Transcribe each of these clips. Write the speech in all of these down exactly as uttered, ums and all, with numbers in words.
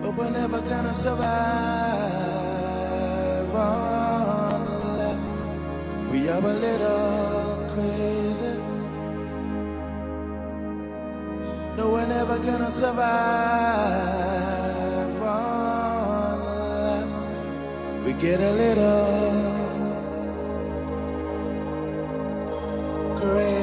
but we're never gonna survive unless we are a little crazy. No, we're never gonna survive unless we get a little crazy.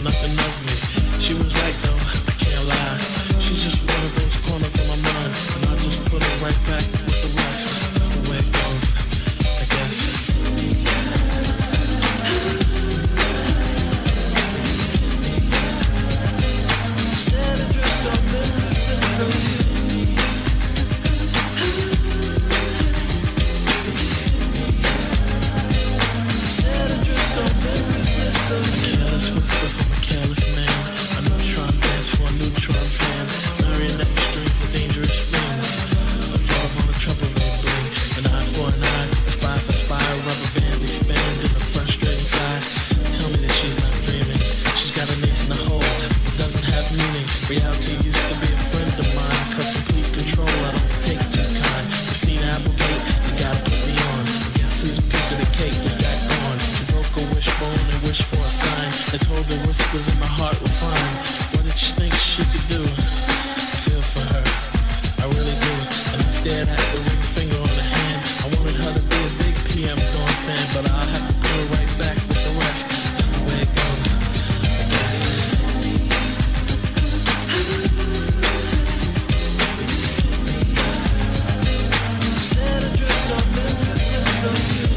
nothing of me. She was right though, I can't lie. She's just one of those corners in my mind, and I just put her right back with the rest. That's the way it goes, I guess. Said adrift on Memphis. Careless whisper from a careless man. A neutron dance for a neutron fan. Marionette strings are dangerous things. A thought on a trouble ray bling. An eye for an eye, a spy for spy. Rubber bands expand in a frustrating side. Tell me that she's not dreaming. She's got an ace in the hole. It doesn't have meaning. Reality used to be a friend of mine. Cause complete control I don't take too kind. Christina Applegate, you gotta put me on. Guess whose piece of the cake was back on? She broke a wishbone and wished for a sign. I told the whispers in my heart were fine. What did she think she could do? I feel for her, I really do. And I stared at the ring finger on the hand. I wanted her to be a big P M Dawn fan, but I'll have to put her right back with the rest. Just the way it goes, I guess. Said adrift on Memphis.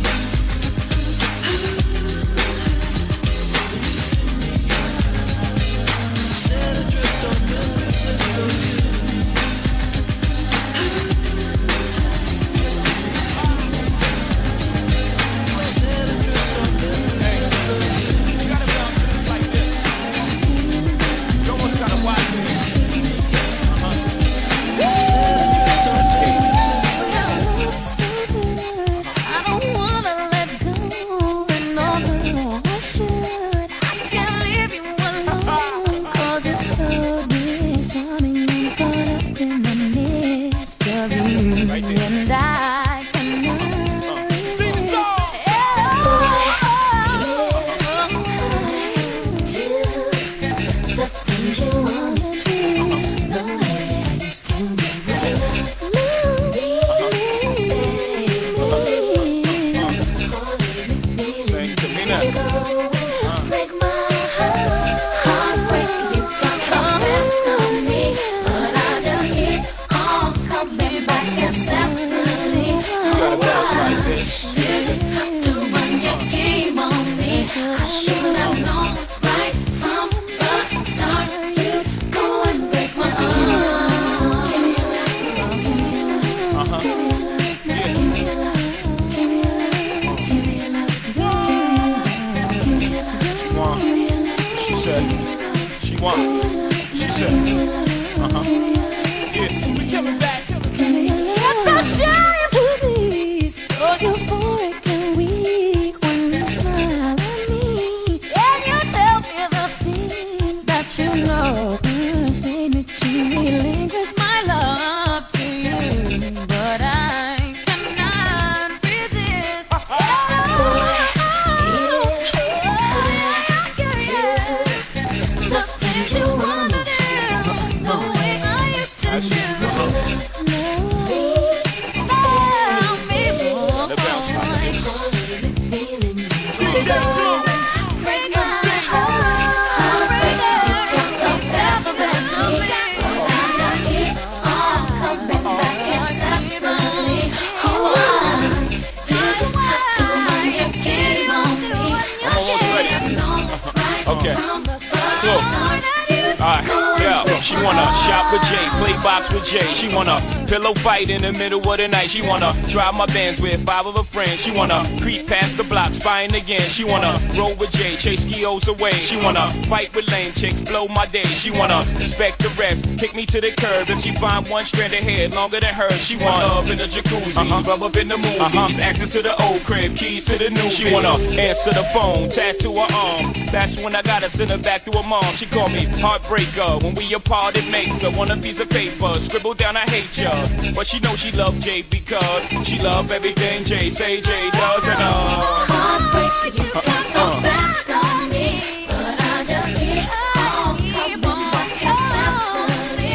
She wanna shop with Jay, play box with Jay. She wanna pillow fight in the middle of the night. She wanna drive my Benz with five of her friends. She wanna creep past the block, spying again. She wanna roll with Jay, chase skios away. She wanna fight with lame chicks, blow my day. She wanna respect the rest, kick me to the curb. If she find one strand of hair longer than hers, she want love in the jacuzzi, uh-huh. rub up in the movies, uh-huh. access to the old crib, keys to the new. She wanna answer the phone, tattoo her arm. That's when I gotta send her back to her mom. She called me heartbreaker. When we apart, it makes her want a piece of paper. Scribble down, I hate ya. But she knows she love Jay because she love everything Jay say Jay does. And uh, heartbreaker, you got the best of me, but I just keep on coming back incessantly.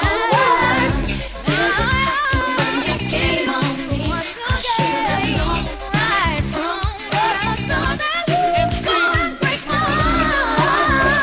Oh, did you have to run your game on me? I should have known right from the start that you couldn't break my heart.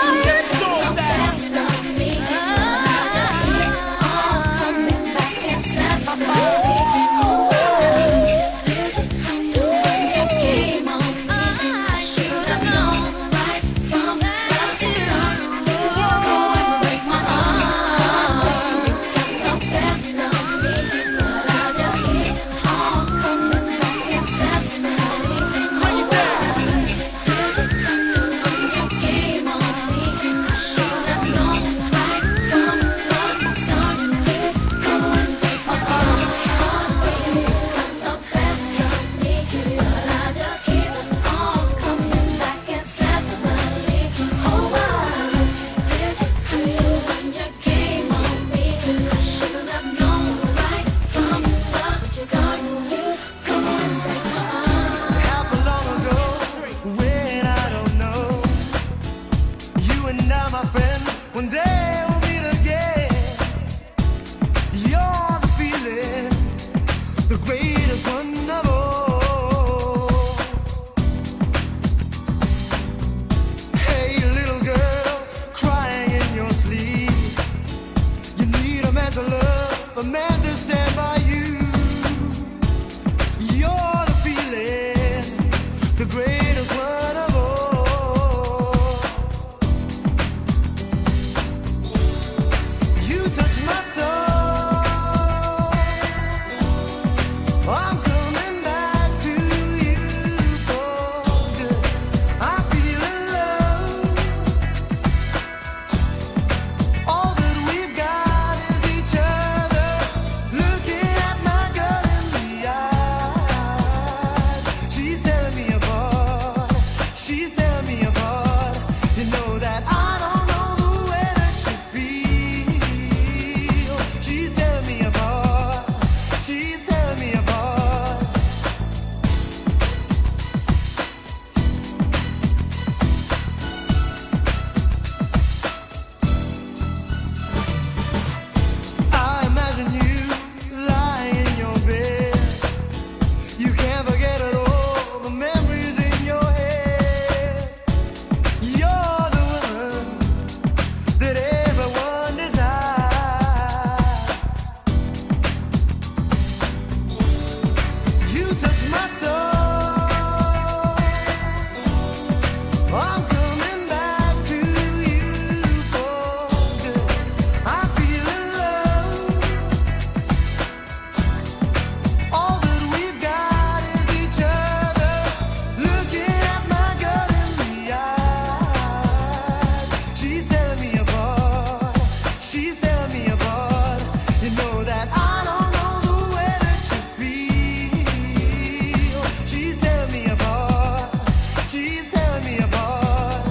I'm coming back to you for good. I feel in love. All that we've got is each other. Looking at my girl in the eyes, she's tearing me apart. She's tearing me apart. You know that I don't know the way that you feel. She's tearing me apart. She's tearing me apart.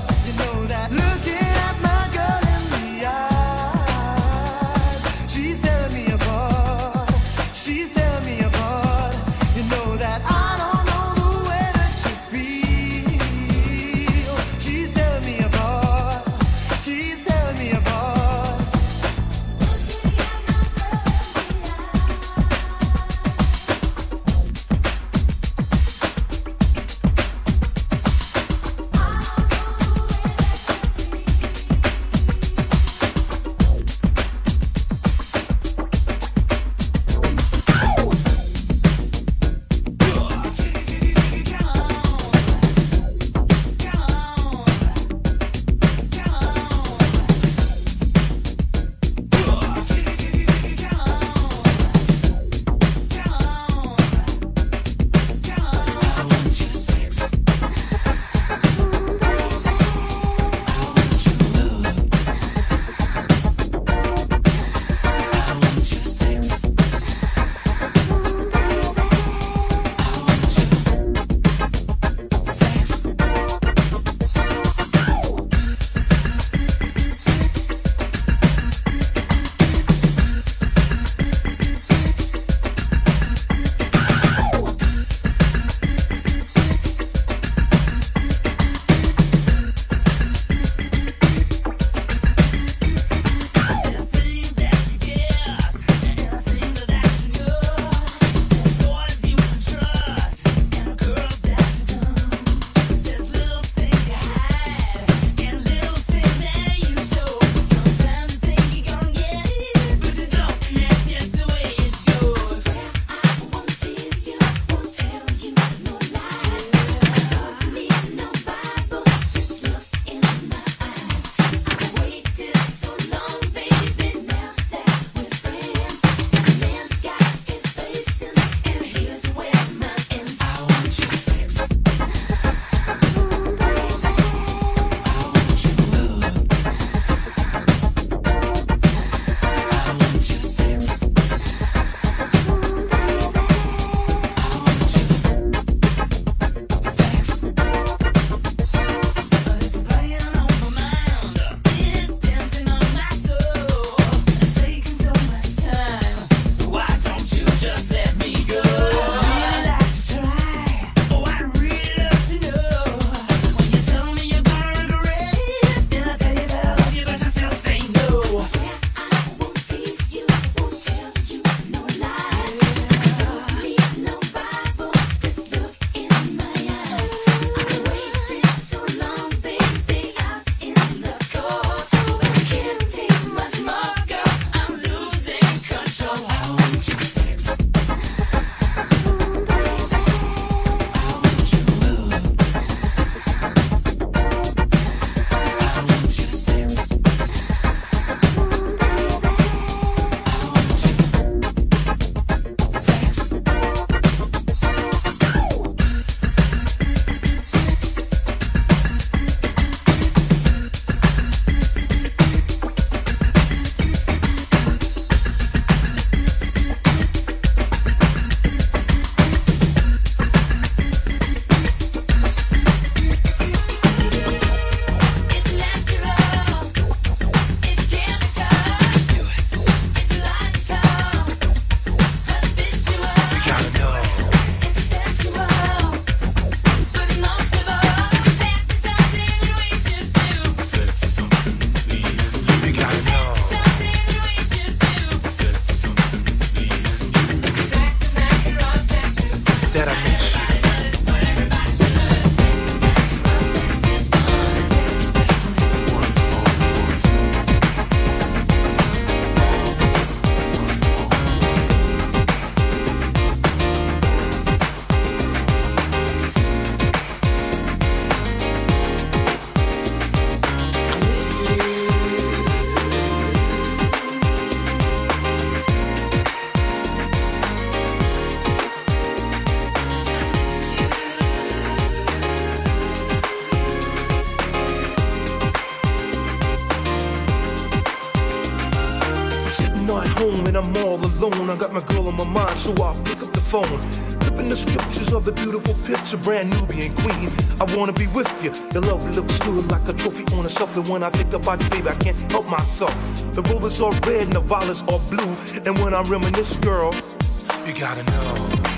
alone. I got my girl on my mind, so I'll pick up the phone. Flipping the scriptures of the beautiful picture, brand Nubian queen. I wanna be with you. Your love looks good like a trophy on a shelf. And when I think about you, baby, I can't help myself. The roses are red and the violets are blue. And when I reminisce, girl, you gotta know.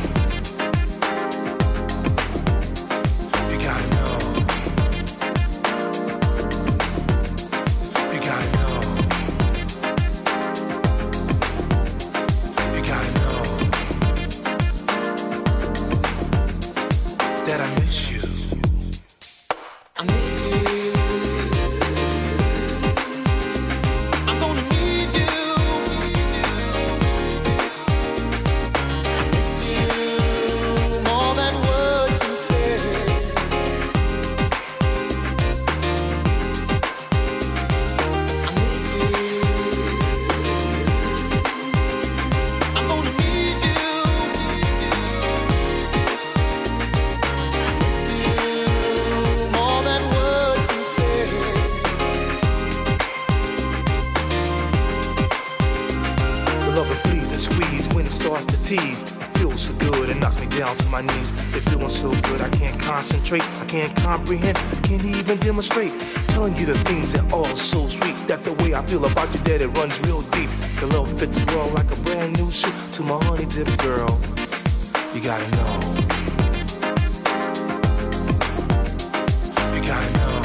You gotta know. You gotta know. You gotta know that I miss you. I miss you. I'm gonna need you. I miss you more than words can say. I miss you. I'm gonna need you. I miss you more than words can say. The love it please and squeeze when it starts to tease. Feels so good, it knocks me down to my knees. It feeling so good, I can't concentrate, I can't comprehend, I can't even demonstrate. Telling you the things that are so sweet. That the way I feel about you, that it runs real deep. The love fits well like a brand new shoe to my honey dip girl. You gotta know. You gotta know.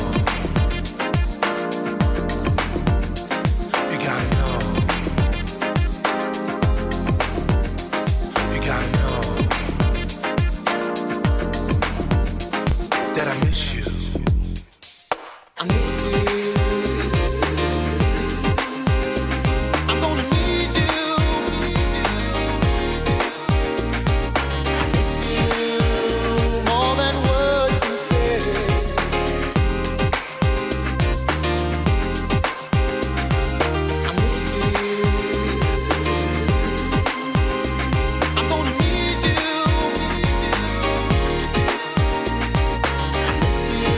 You gotta know. You gotta know that I miss you. I miss you. I'm gonna need you. I miss you more than words can say. I miss you. I'm gonna need you. I miss you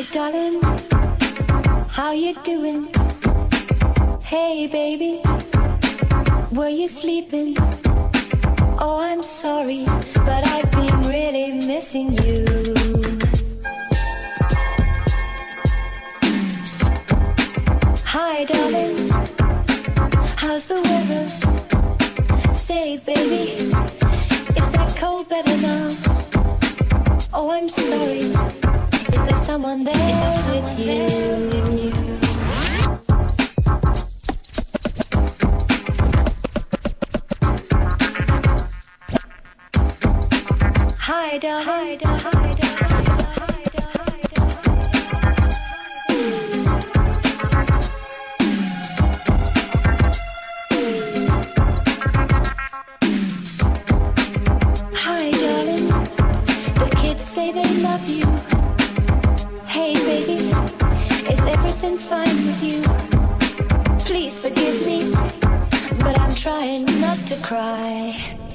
darling, how you doing? Hey baby, were you sleeping? Oh, I'm sorry, but I've been really missing you. Hi darling, how's the weather? Say baby, is that cold better now? Oh, I'm sorry, is there someone there with you? Hi darling, hi darling, hi say they love you. Hey baby, is everything fine with you? Please forgive me, but I'm trying not to cry.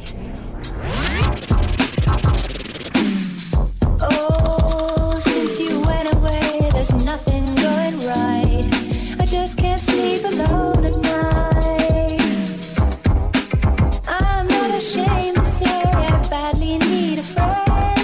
Oh, since you went away, there's nothing going right. I just can't sleep alone at night. I'm not ashamed to say I badly need a friend.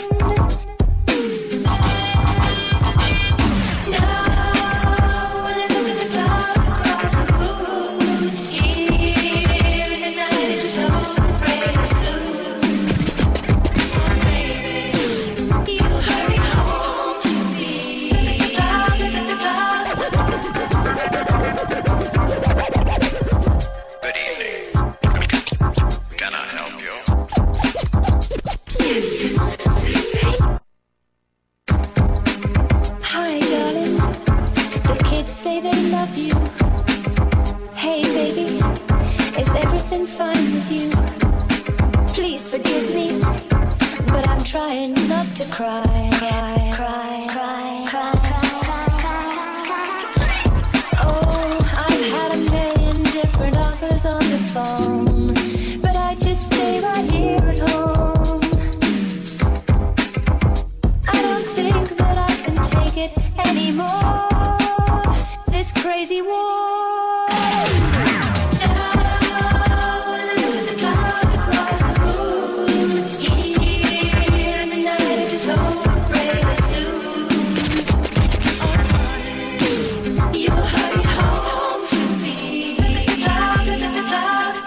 Say they love you. Hey baby, is everything fine with you? Please forgive me, but I'm trying not to cry. Cry, cry, cry, cry, cry. Oh, I've had a million different offers on the phone, but I just stay right here at home. I don't think that I can take it anymore. This crazy war. Down with the clouds across the moon. Here in the night, I just hope and pray that soon, oh darling, you'll hurry home to me. Cloud with the clouds.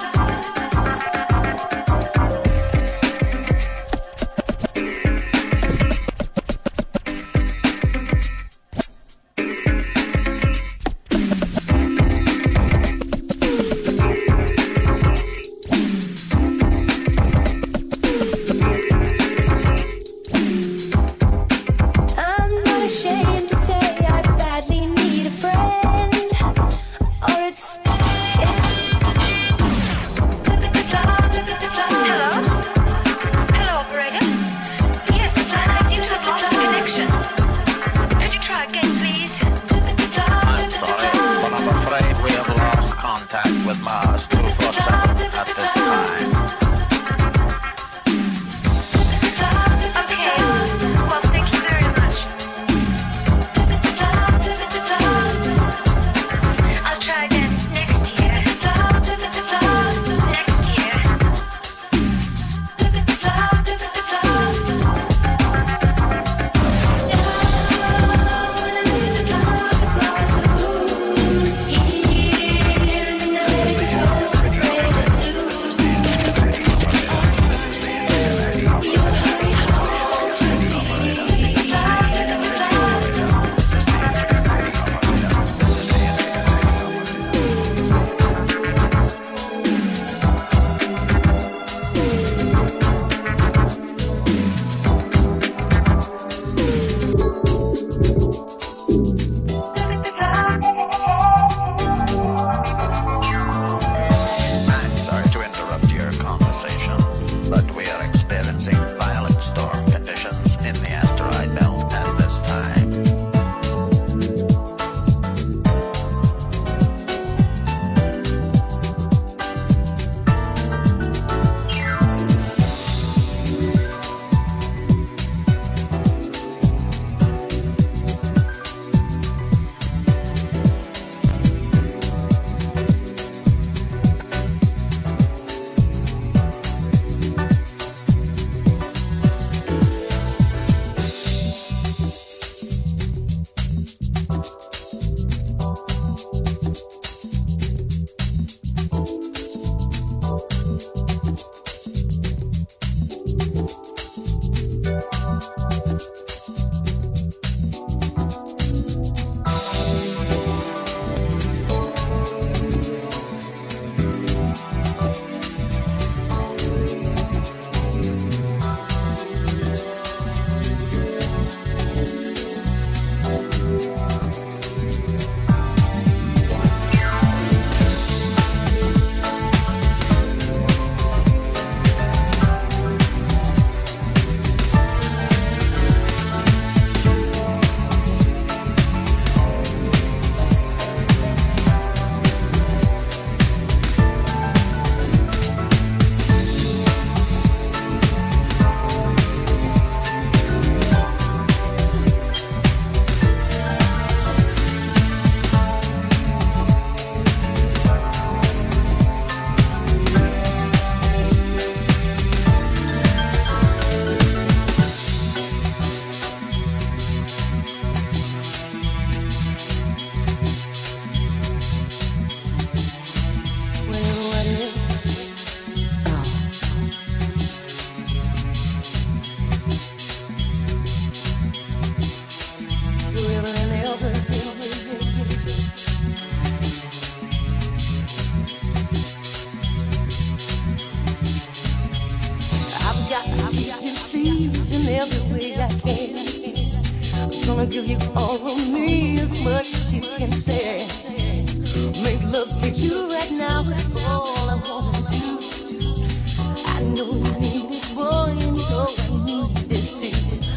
I've got to keep you pleased in every way I can. I'm gonna give you all of me as much as you can stand. Make love to you right now, that's all I want to do. I know you need it, boy, and you know I need it too.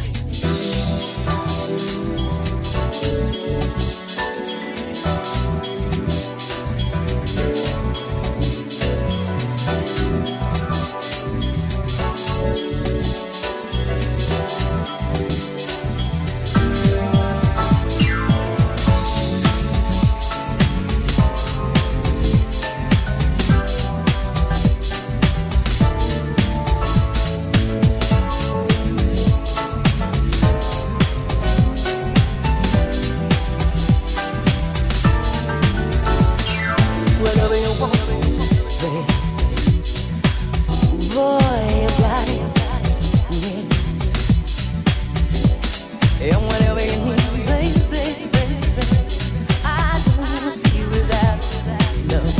Whatever you want, baby. Boy, you got it, yeah. And whatever you need, baby, baby, baby, I don't wanna see you without love.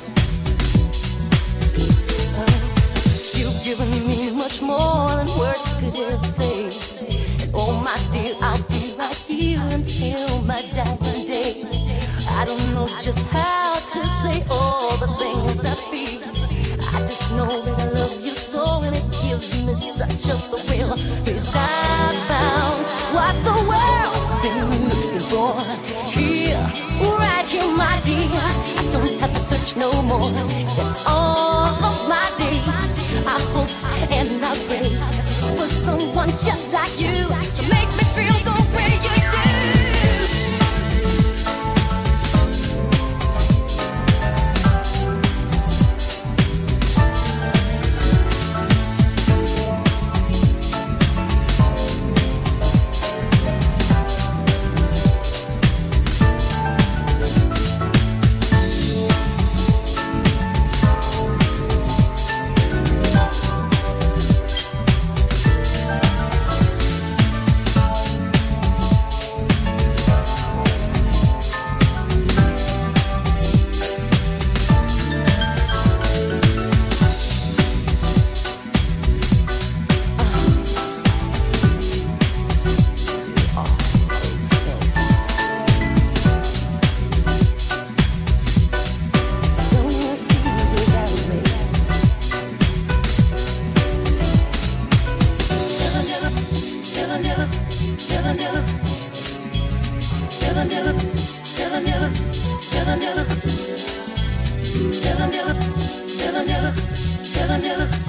Uh, you've given me much more than words could ever say. And oh my dear, I'll be right here until my dying day. I don't know just how to say all the things I feel. I just know that I love you so, and it gives me such a thrill. 'Cause I found what the world's been looking for. Here, right here, my dear. I don't have to search no more. In all of my days, I hoped and I prayed for someone just like you to make me feel the way you do. Never, never, never, never, never, never, never.